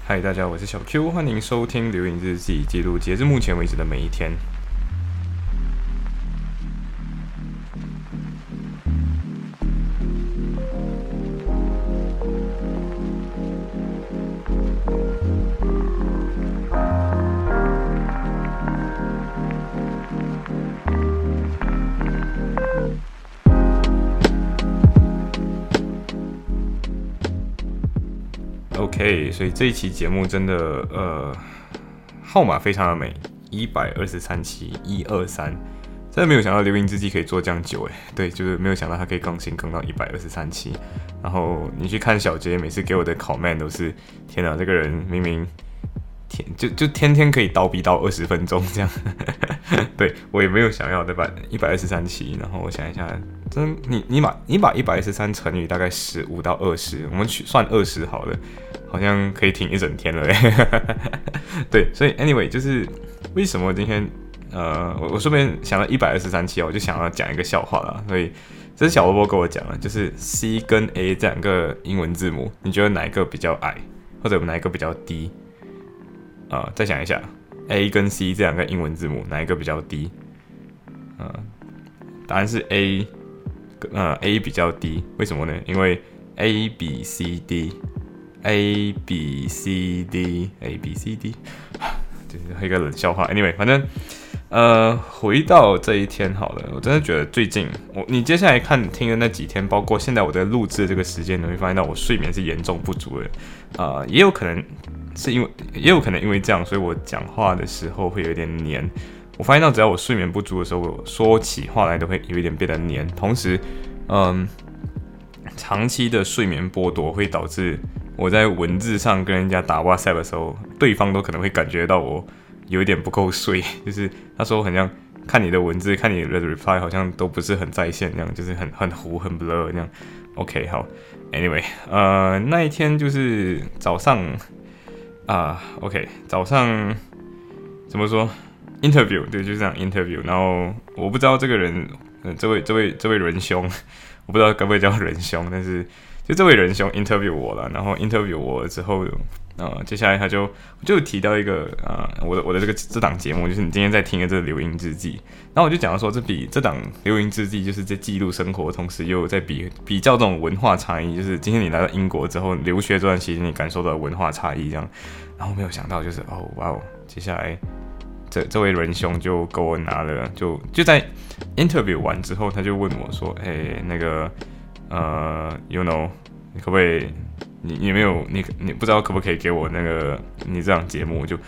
嗨，大家好，我是小 Q，欢迎收听流影日记，记录截至目前为止的每一天。OK， 所以这一期节目真的号码非常的美，123期123，真的没有想到流影日记可以做这样久对，就是没有想到它可以更新到123期。然后你去看小杰每次给我的 comment 都是，天哪，这个人明明就天天可以叨逼到20分钟这样，对我也没有想要对吧？123期，然后我想一下，真你把123乘以大概15到20，我们算20好了，好像可以挺一整天了对，所以 anyway 就是为什么今天我顺便想到123期，我就想要讲一个笑话啦，所以这是小波波跟我讲的，就是 C 跟 A 这两个英文字母，你觉得哪一个比较矮，或者哪一个比较低？再想一下 ，A 跟 C 这两个英文字母哪一个比较低？答案是 A 比较低，为什么呢？因为 A B C D，A B C D，A B C D， 就是一个冷笑话。Anyway， 反正回到这一天好了，我真的觉得最近你接下来听的那几天，包括现在我在录制这个时间，你会发现到我睡眠是严重不足的，也有可能因为这样，所以我讲话的时候会有一点黏。我发现到只要我睡眠不足的时候，我说起话来都会有一点变得黏。同时，长期的睡眠剥夺会导致我在文字上跟人家打 WhatsApp 的时候，对方都可能会感觉到我有一点不够睡，就是他说很像看你的文字，看你的 reply 好像都不是很在线那样，就是很糊很 blur 那样。OK， 好 ，Anyway， 那一天就是早上。OK， 早上怎么说 ？interview 对，就是这样 interview。然后我不知道这个人，这位仁兄，我不知道该不会叫仁兄，但是就这位仁兄 interview 我了。然后 interview 我之后，接下来他就提到一个我的这档节目，就是你今天在听的这个流音日记。然后我就讲到说，这档流音日记就是在记录生活，同时又在比较这种文化差异，就是今天你来到英国之后留学这段期间，你感受到的文化差异这样。然后没有想到就是接下来这位仁兄就给我拿了，就在 interview 完之后，他就问我说，那个you know， 你可不可以？你没有你不知道可不可以给我那个你这档节目？我就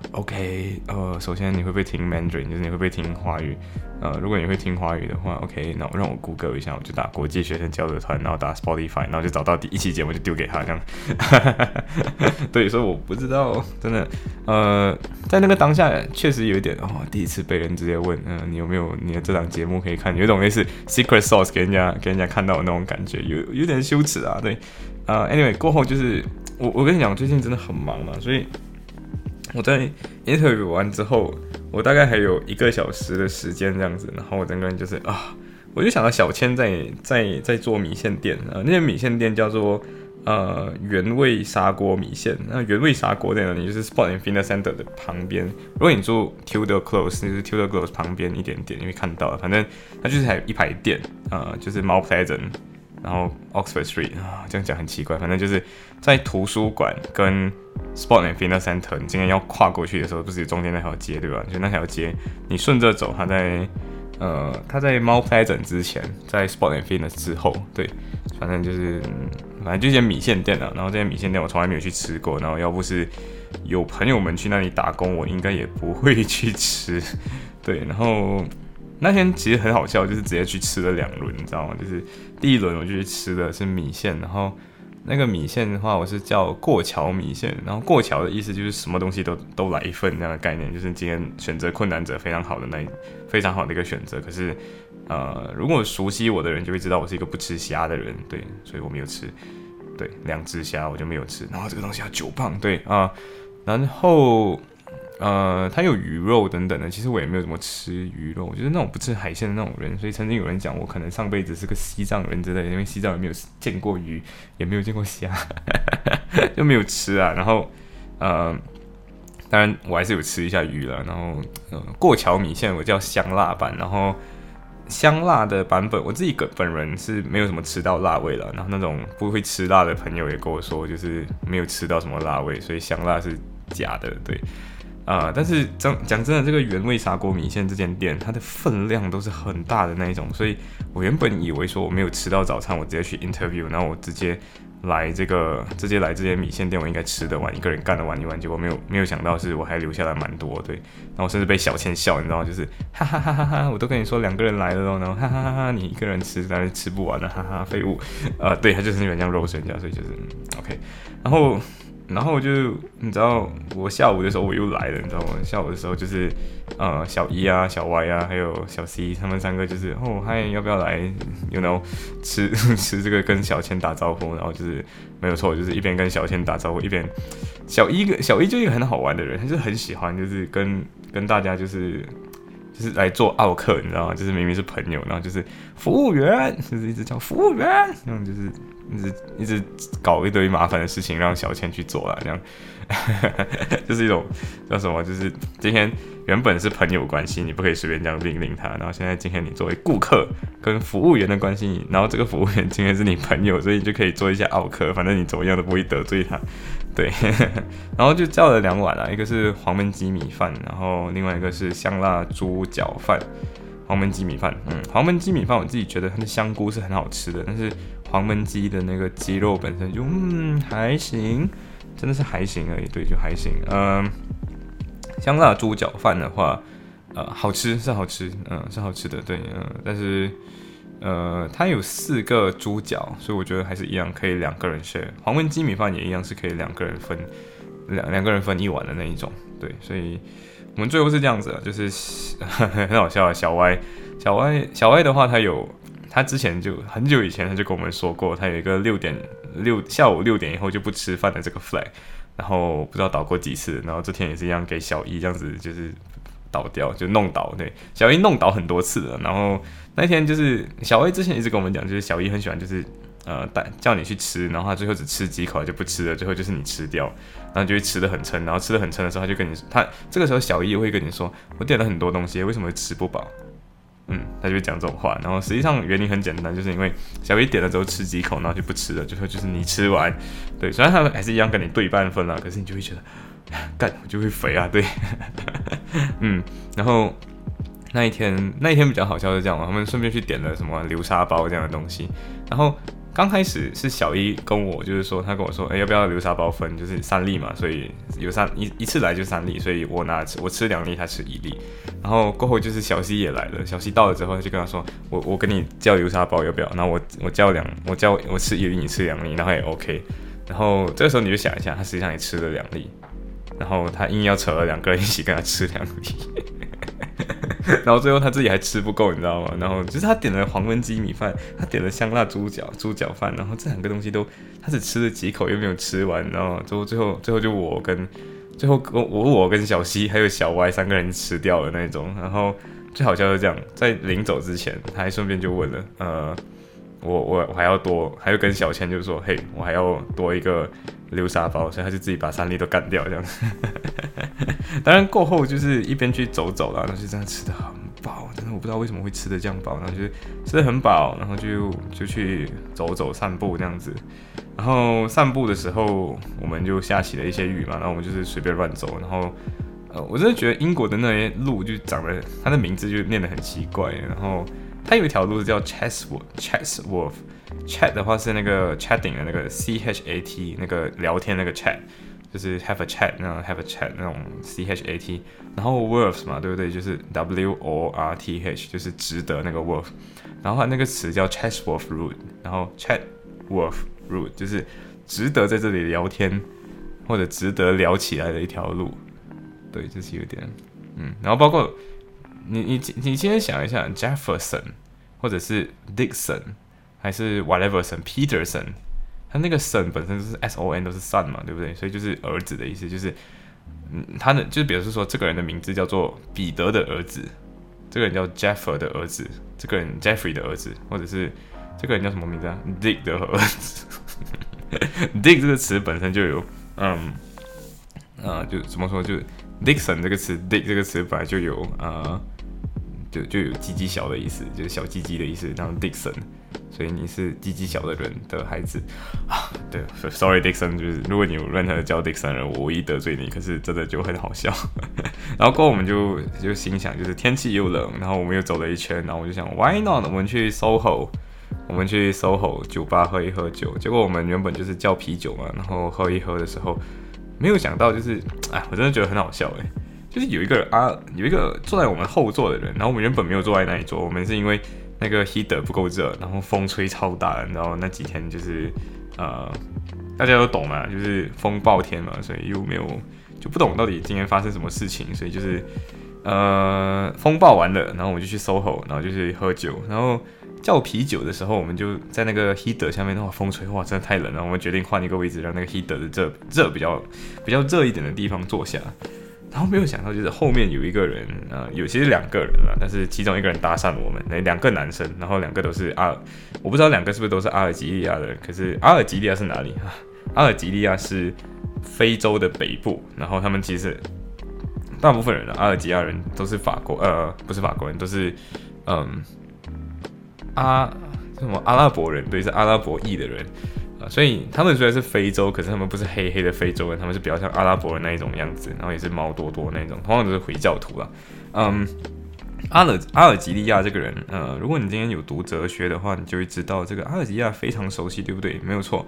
OK， 首先你会不会听 Mandarin， 就是你会不会听华语？如果你会听华语的话 ，OK， 那让我 Google 一下，我就打国际学生交流团，然后打 Spotify， 然后就找到第一期节目就丢给他这样。对，所以我不知道，真的，在那个当下确实有一点第一次被人直接问，你有没有你的这档节目可以看？有一种类似 secret sauce 给人家看到的那种感觉，有点羞耻啊，对。Anyway， 过后就是我跟你讲，最近真的很忙嘛，所以我在 interview 完之后，我大概还有1个小时的时间这样子，然后我整个人就是我就想到小千在做米线店那间米线店叫做原味砂锅米线。那原味砂锅在哪里？就是 Sport and Fitness Center 的旁边。如果你住 Tudor Close， 就是 Tudor Close 旁边一点点，你会看到，反正它就是还有一排店就是 Mount Pleasant。然后 Oxford Street 这样讲很奇怪，反正就是在图书馆跟 Sport and Fitness Center， 你今天要跨过去的时候，不是中间那条街对吧？就那条街，你顺着走，它在Mount Pleasant 之前，在 Sport and Fitness 之后，对，反正就一间米线店然后这间米线店我从来没有去吃过，然后要不是有朋友们去那里打工，我应该也不会去吃，对，然后。那天其实很好笑，就是直接去吃了2轮，你知道吗？就是第一轮我就去吃的是米线，然后那个米线的话，我是叫过桥米线，然后过桥的意思就是什么东西都来一份那样的概念，就是今天选择困难者非常好的一个选择。可是如果熟悉我的人就会知道我是一个不吃虾的人，对，所以我没有吃，对，2只虾我就没有吃，然后这个东西要9磅，对然后。它有鱼肉等等的，其实我也没有怎么吃鱼肉，我就是那种不吃海鲜的那种人，所以曾经有人讲我可能上辈子是个西藏人之类的，因为西藏人没有见过鱼，也没有见过虾，就没有吃啊。然后当然我还是有吃一下鱼了，然后过桥米线我叫香辣版，然后香辣的版本我自己本人是没有什么吃到辣味了，然后那种不会吃辣的朋友也跟我说，就是没有吃到什么辣味，所以香辣是假的，对。但是讲真的，这个原味砂锅米线这间店，它的分量都是很大的那一种，所以我原本以为说我没有吃到早餐，我直接去 interview， 然后我直接来这间米线店，我应该吃得完，一个人干得完一碗，结果没有想到是我还留下来蛮多，对，然后我甚至被小千笑，你知道吗？就是哈哈哈哈哈，我都跟你说2个人来了咯，然后哈哈哈哈，你一个人吃，当然吃不完了，哈哈，废物，对，他就是有点像肉身家，所以就是OK，然后就你知道，我下午的时候我又来了，你知道吗？下午的时候就是小一啊、小 Y 啊，还有小 C， 他们3个就是嗨，要不要来 ？You know， 吃这个跟小千打招呼，然后就是没有错，就是一边跟小千打招呼，一边小一就一个很好玩的人，他就很喜欢就是跟大家就是来做奥客，你知道吗？就是明明是朋友，然后就是服务员，就是一直叫服务员，然后就是一直搞一堆麻烦的事情让小千去做啦，这样就是一种叫什么？就是今天原本是朋友关系，你不可以随便这样命令他，然后现在今天你作为顾客跟服务员的关系，然后这个服务员今天是你朋友，所以你就可以做一下奥客，反正你怎么样都不会得罪他，对，然后就叫了2碗啦，一个是黄焖鸡米饭，然后另外一个是香辣猪脚饭。黄焖鸡米饭，黄焖鸡米饭我自己觉得它的香菇是很好吃的，但是黄焖鸡的那个鸡肉本身就还行，真的是还行而已，对，就还行。香辣猪脚饭的话，好吃是好吃，是好吃的，对，但是它有4个猪脚，所以我觉得还是一样可以2个人 share。黄焖鸡米饭也一样是可以2个人分两个人分1碗的那一种，对，所以。我们最后是这样子的，就是很好笑啊。小歪的话，他之前就很久以前他就跟我们说过，他有一个下午6点以后就不吃饭的这个 flag， 然后不知道倒过几次，然后这天也是一样给小一这样子就是倒掉，就弄倒，对，小一弄倒很多次了，然后那天就是小歪之前一直跟我们讲，就是小一很喜欢就是叫你去吃，然后他最后只吃几口就不吃了，最后就是你吃掉，然后你就会吃得很撑，然后吃得很撑的时候，他就跟你，他这个时候小一会跟你说，我点了很多东西，为什么会吃不饱？他就会讲这种话，然后实际上原因很简单，就是因为小一点了之后吃几口，然后就不吃了，最后就是你吃完，对，虽然他还是一样跟你对半分啦，可是你就会觉得，干我就会肥啊，对，然后。那一天比较好笑是这样，他们顺便去点了什么流沙包这样的东西，然后刚开始是小一跟我就是说，他跟我说，要不要流沙包分，就是3粒嘛，所以有一次来就3粒，所以我吃2粒，他吃1粒，然后过后就是小西也来了，小西到了之后他就跟他说，我跟你叫流沙包要不要？然后我吃1粒，你吃2粒，然后也 OK， 然后这个时候你就想一下，他实际上也吃了2粒，然后他硬要扯了2个人一起跟他吃2粒。然后最后他自己还吃不够，你知道吗？然后就是他点了黄焖鸡米饭，他点了香辣猪脚饭，然后这2个东西都他只吃了几口又没有吃完，然后最后就我跟小西还有小歪3个人吃掉了那种。然后最好笑是这样，在临走之前，他还顺便就问了，我还要跟小千就说，嘿，我还要多一个流沙包，所以他就自己把3粒都干掉这样。当然过后就是一边去走啦，然后就真的吃得很饱，真的我不知道为什么会吃得这样饱，然后就吃得很饱，然后就去走散步这样子。然后散步的时候，我们就下起了一些雨嘛，然后我们就是随便乱走，然后我真的觉得英国的那些路就长得，它的名字就念得很奇怪，然后它有一条路是叫 Chatsworth。Chat 的话是那个 chatting 的那个 CHAT 那个聊天那个 chat， 就是 have a chat 那种 have a chat 那种 CHAT， 然后 worth 嘛，对不对？就是 WORTH， 就是值得那个 worth， 然后它那个词叫 Chatsworth Road， 然后 Chatsworth Road 就是值得在这里聊天或者值得聊起来的一条路，对，就是有点然后包括你今天想一下 Jefferson 或者是 Dixon。还是 whatever son Peterson， 他那个 son 本身就是 SON 都是 son 嘛，对不对？所以就是儿子的意思，就是他的就是比如说这个人的名字叫做彼得的儿子，这个人叫 Jeffer 的儿子，这个人 Jeffrey 的儿子，或者是这个人叫什么名字啊 ？Dick 的儿子。Dick 这个词本身就有就怎么说，就 Dixon 这个词 ，Dick 这个词本来就有就有鸡鸡小的意思，就是小鸡鸡的意思，然后 Dixon， 所以你是鸡鸡小的人的孩子啊。对 ，Sorry Dixon， 就是如果你有任何叫 Dixon 的人，我无意得罪你，可是真的就很好笑。然后过后我们就心想，就是天气又冷，然后我们又走了一圈，然后我就想 Why not？ 我们去 SOHO 酒吧喝一喝酒。结果我们原本就是叫啤酒嘛，然后喝一喝的时候，没有想到就是我真的觉得很好笑就是有一个坐在我们后座的人，然后我们原本没有坐在那里坐，我们是因为那个 heater 不够热，然后风吹超大，然后那几天就是大家都懂嘛，就是风暴天嘛，所以又没有就不懂到底今天发生什么事情，所以就是风暴完了，然后我们就去 SOHO， 然后就去喝酒，然后叫啤酒的时候，我们就在那个 heater 下面，风吹，哇，真的太冷了，我们决定换一个位置，让那个 heater 的热比较热一点的地方坐下。然后没有想到，就是后面有一个人，其实2个人啦，但是其中一个人搭讪我们，2个男生，然后2个都是我不知道2个是不是都是阿尔及利亚的人，可是阿尔及利亚是哪里？阿尔及利亚是非洲的北部，然后他们其实大部分人阿尔及利亚人都是不是法国人，都是阿拉伯人，对，是阿拉伯裔的人。所以他们虽然是非洲，可是他们不是黑黑的非洲人，他们是比较像阿拉伯人那一种样子，然后也是毛多多那种，通常都是回教徒啦。阿尔及利亚这个人，如果你今天有读哲学的话，你就会知道这个阿尔及利亚非常熟悉，对不对？没有错，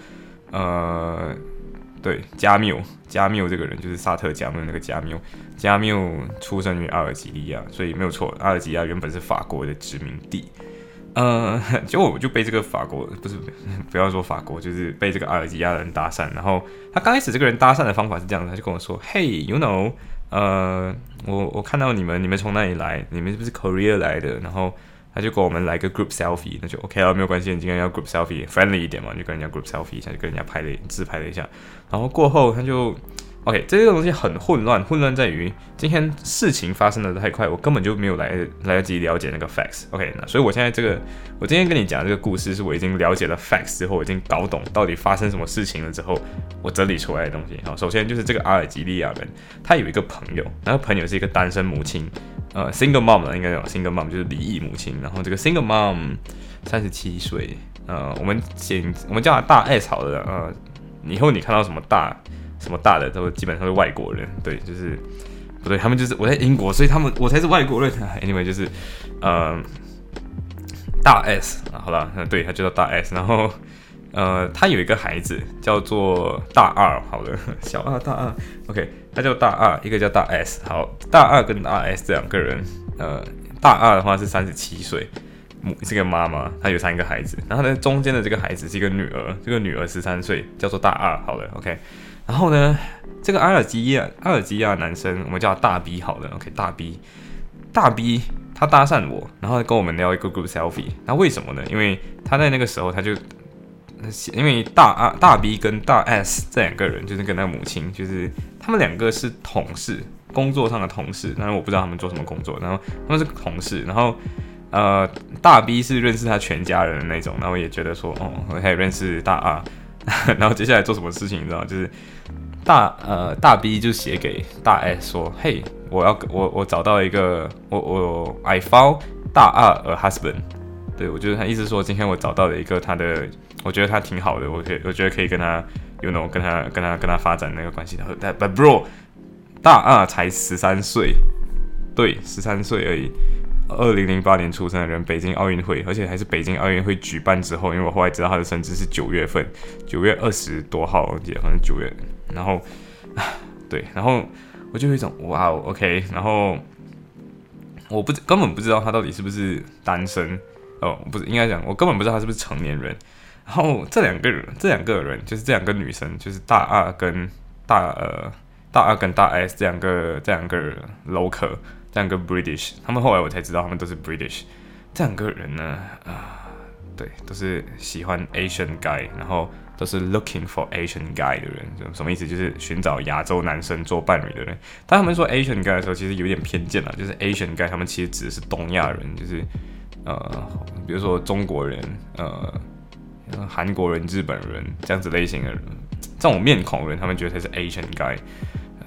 对，加缪这个人就是萨特加缪那个加缪出生于阿尔及利亚，所以没有错，阿尔及利亚原本是法国的殖民地。结果我就被这个不要说法国，就是被这个阿尔及利亚的人搭讪。然后他刚开始这个人搭讪的方法是这样的，他就跟我说 ：“Hey, you know， 我看到你们从哪里来？你们是不是 Korea 来的？”然后他就跟我们来个 group selfie， 那就 OK 了，没有关系，你今天要 group selfie friendly 一点嘛，就跟人家 group selfie 一下，就跟人家自拍了一下。然后过后他就。OK， 这个东西很混乱在于今天事情发生的太快，我根本就没有来得及了解那个 facts。OK， 那所以我现在我今天跟你讲这个故事，是我已经了解了 facts 之后，我已经搞懂到底发生什么事情了之后，我整理出来的东西。好，首先就是这个阿尔及利亚人，他有一个朋友，那个朋友是一个单身母亲，single mom 了，应该有 single mom 就是离异母亲。然后这个 single mom 37岁，我们叫他大 S 好了，以后你看到什么大的都基本上是外国人，对，就是不对，他们就是我在英国，所以我才是外国人。Anyway， 就是大 S 好了，对，他就叫大 S。然后他有一个孩子叫做大二，好了，小二大二 ，OK， 他叫大二，一个叫大 S。好，大二跟大 S 这2个人，大二的话是37岁。是个妈妈，她有3个孩子，然后呢，中间的这个孩子是一个女儿，这个女儿13岁，叫做大二，好了 ，OK。然后呢，这个阿尔及利亚男生，我们叫他大 B 好了 ，OK， 大 B，他搭讪我，然后跟我们聊一个 group selfie。那为什么呢？因为他在那个时候因为大 B 跟大 S 这2个人，就是跟那个母亲，就是他们2个是同事，工作上的同事，但是我不知道他们做什么工作，然后他们是同事，然后。大 B 是认识他全家人的那种，然后也觉得说，我可以认识大 R， 然后接下来做什么事情，你知道，就是大 B 就写给大 S 说，嘿，我找到一个，I found 大 R a husband， 对，我觉得他意思说，今天我找到了一个我觉得他挺好的，我觉得可以跟他跟他发展那个关系的。But bro， 大 R 才13岁，对，13岁而已。2008年出生的人，北京奥运会，而且还是北京奥运会举办之后，因为我后来知道他的生日是9月份，9月20多号，我记得好像9月，然后，对，然后我就有一种哇 ，OK， 然后根本不知道他到底是不是单身，不是，应该讲我根本不知道他是不是成年人，然后这两个人就是这2个女生，就是大二跟大 S 这两个 local。这2个 British， 他们后来我才知道他们都是 British。这2个人呢，对，都是喜欢 Asian guy， 然后都是 looking for Asian guy 的人。什么意思？就是寻找亚洲男生做伴侣的人。当他们说 Asian guy 的时候，其实有点偏见啦，就是 Asian guy 他们其实指的是东亚人，就是比如说中国人、韩国人、日本人这样子类型的人，这种面孔人，他们觉得才是 Asian guy。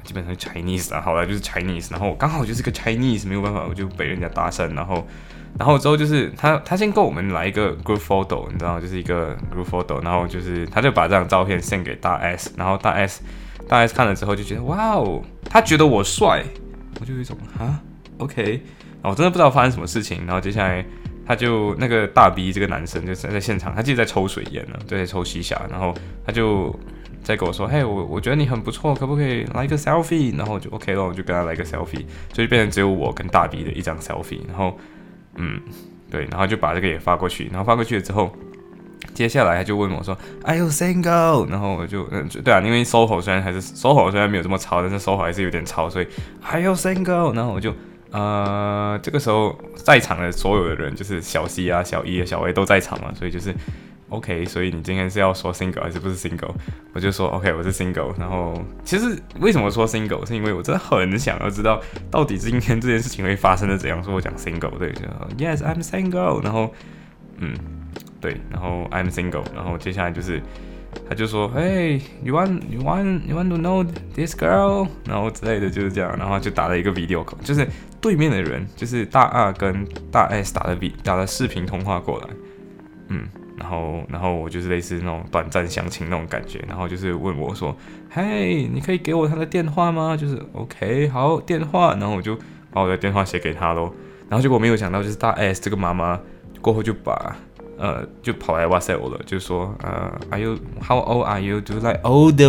基本上是 Chinese 啊，好了就是 Chinese， 然后刚好就是个 Chinese， 没有办法，我就被人家搭讪，然后之后就是他先跟我们来一个 group photo， 你知道，就是一个 group photo， 然后就是他就把这张照片 send 给大 S， 然后大 S 看了之后就觉得哇哦，他觉得我帅，我就有一种OK， 然后我真的不知道发生什么事情，然后接下来他就那个大 B 这个男生就在现场，他自己在抽水烟呢，就在抽西夏，然后他就在跟我说，嘿，我觉得你很不错，可不可以来一个 selfie？ 然后我就 OK 了，我就跟他来一个 selfie， 所以变成只有我跟大 B 的一张 selfie， 然后对，然后就把这个也发过去，然后发过去了之后，接下来他就问我说 ，Are you single？ 然后我就对啊，因为 SOHO 虽然没有这么吵，但是 SOHO 还是有点吵，所以 Are you single？ 然后我就这个时候在场的所有的人，就是小 C 啊、小 E 啊、小 A 都在场嘛，所以就是 OK， 所以你今天是要说 single 还是不是 single？ 我就说 OK， 我是 single。然后其实为什么说 single， 是因为我真的很想要知道到底今天这件事情会发生的怎样。说我讲 single， 对，就 Yes I'm single。然后对，然后 I'm single。然后接下来就是他就说 Hey you want to know this girl？ 然后之类的就是这样，然后就打了一个 video call， 就是对面的人就是大二跟大 S 打了视频通话过来，然后我就是类似那种短暂相亲那种感觉，然后就是问我说，嘿，你可以给我他的电话吗？就是 OK， 好，电话，然后我就把我的电话写给他咯，然后结果没有想到，就是大 S 这个妈妈过后就就跑来 WhatsApp 我了，就说how old are you？ 就是 like older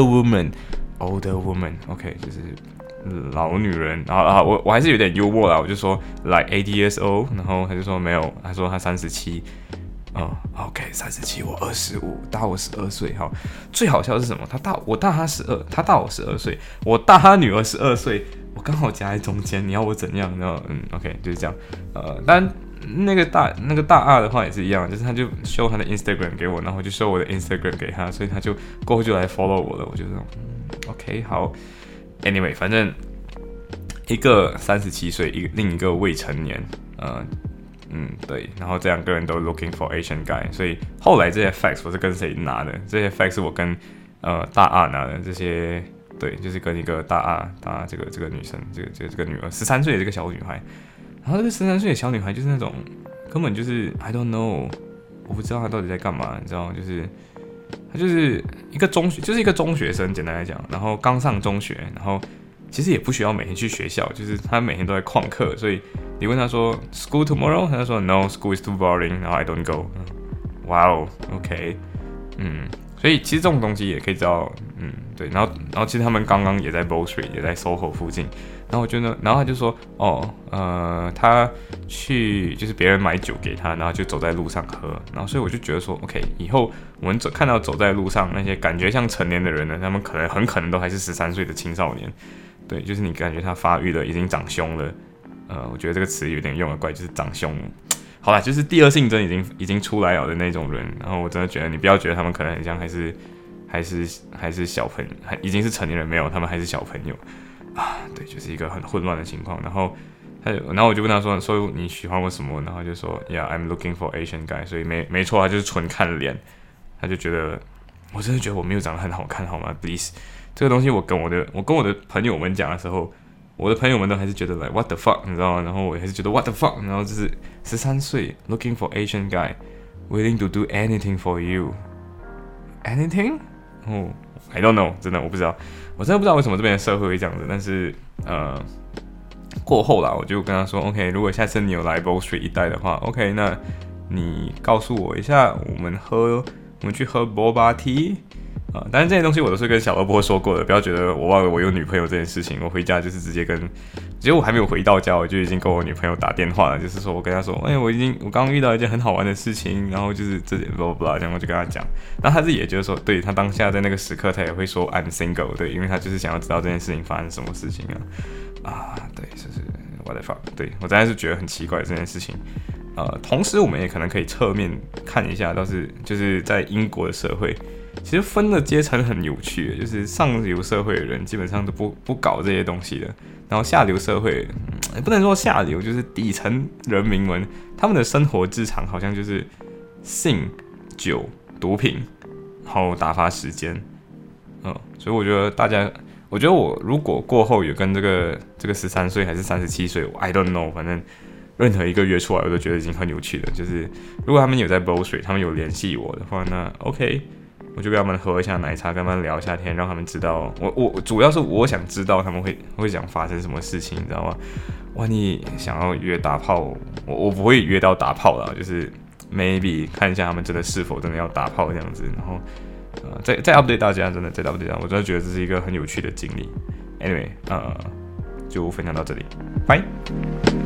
woman，OK， 就是老女人，然后我还是有点幽默啦，我就说 like 80 years old， 然后他就说没有，他说他37。OK， 37，我25，大我12岁。好，最好笑的是什么？我大他12，他大我12岁，我大他女儿12岁，我刚好夹在中间。你要我怎样？然后OK， 就是这样。但那个大二的话也是一样，就是他就 show 他的 Instagram 给我，然后就 show 我的 Instagram 给他，所以他就过后就来 follow 我了。我就这种OK 好。Anyway， 反正一个37岁，另一个未成年，对，然后这两个人都 looking for Asian guy， 所以后来这些 facts 我是跟谁拿的？这些 facts 是我跟大二拿的，这些对，就是跟一个大二这个女生，这个女儿13岁的这个小女孩，然后这个13岁的小女孩就是那种根本就是 I don't know， 我不知道她到底在干嘛，你知道，就是她就是一个中学生，简单来讲，然后刚上中学，然后其实也不需要每天去学校，就是她每天都在旷课，所以你问她说 School tomorrow， 她就说 No school is too boring， 然后 I don't go。哇哦 ，OK， 所以其实这种东西也可以知道，对，然后其实他们刚刚也在 Bow Street， 也在 SOHO 附近，然后我觉得，然后他就说，他去就是别人买酒给他，然后就走在路上喝，然后所以我就觉得说 ，OK， 以后我们看到走在路上那些感觉像成年的人呢，他们很可能都还是13岁的青少年，对，就是你感觉他发育了，已经长胸了，我觉得这个词有点用得怪，就是长胸。好啦，就是第二性征已经出来了的那种人，然后我真的觉得你不要觉得他们可能很像还是小朋友，已经是成年人，没有，他们还是小朋友啊，对，就是一个很混乱的情况。然后我就问他说你喜欢我什么？然后就说 Yeah I'm looking for Asian guy， 所以没错，他就是纯看脸，他就觉得我真的觉得我没有长得很好看，好吗 ？Please， 这个东西我跟我的朋友们讲的时候。我的朋友们都还是觉得 like what the fuck， 你知道吗？然后我还是觉得 what the fuck， 然后就是13岁 looking for Asian guy willing to do anything for you anything， I don't know， 真的我不知道，我真的不知道为什么这边的社会会这样子。但是过后啦，我就跟他说 OK， 如果下次你有来 Bow Street 一带的话 ，OK， 那你告诉我一下，我们去喝 Boba Tea。但是这些东西我都是跟小萝卜说过的，不要觉得我忘了我有女朋友这件事情。我回家就是直接其实我还没有回到家，我就已经跟我女朋友打电话了，就是说我跟她说，我刚刚遇到一件很好玩的事情，然后就是这点 blah blah， 这样我就跟她讲，然后她自己也觉得说，对，她当下在那个时刻，她也会说 I'm single， 对，因为她就是想要知道这件事情发生什么事情对，就是 what the fuck， 对我真的是觉得很奇怪这件事情。同时我们也可能可以侧面看一下，就是在英国的社会。其实分的阶层很有趣，就是上流社会的人基本上都不搞这些东西的，然后下流社会也不能说下流，就是底层人民们，他们的生活日常好像就是性、酒、毒品，然后打发时间，所以我觉得大家， 我觉得我如果过后有跟这个13岁还是37岁，I don't know， 反正任何一个约出来，我都觉得已经很有趣了。就是如果他们有在 Bow Street，他们有联系我的话，那 OK， 我就跟他们喝一下奶茶，跟他们聊一下天，让他们知道我主要是我想知道他们会想发生什么事情，你知道吗？哇，你想要约打炮，我不会约到打炮啦，就是 maybe 看一下他们是否真的要打炮这样子，然后再 update 大家，真的再 update 大家，我真的觉得这是一个很有趣的经历。Anyway，就分享到这里，拜。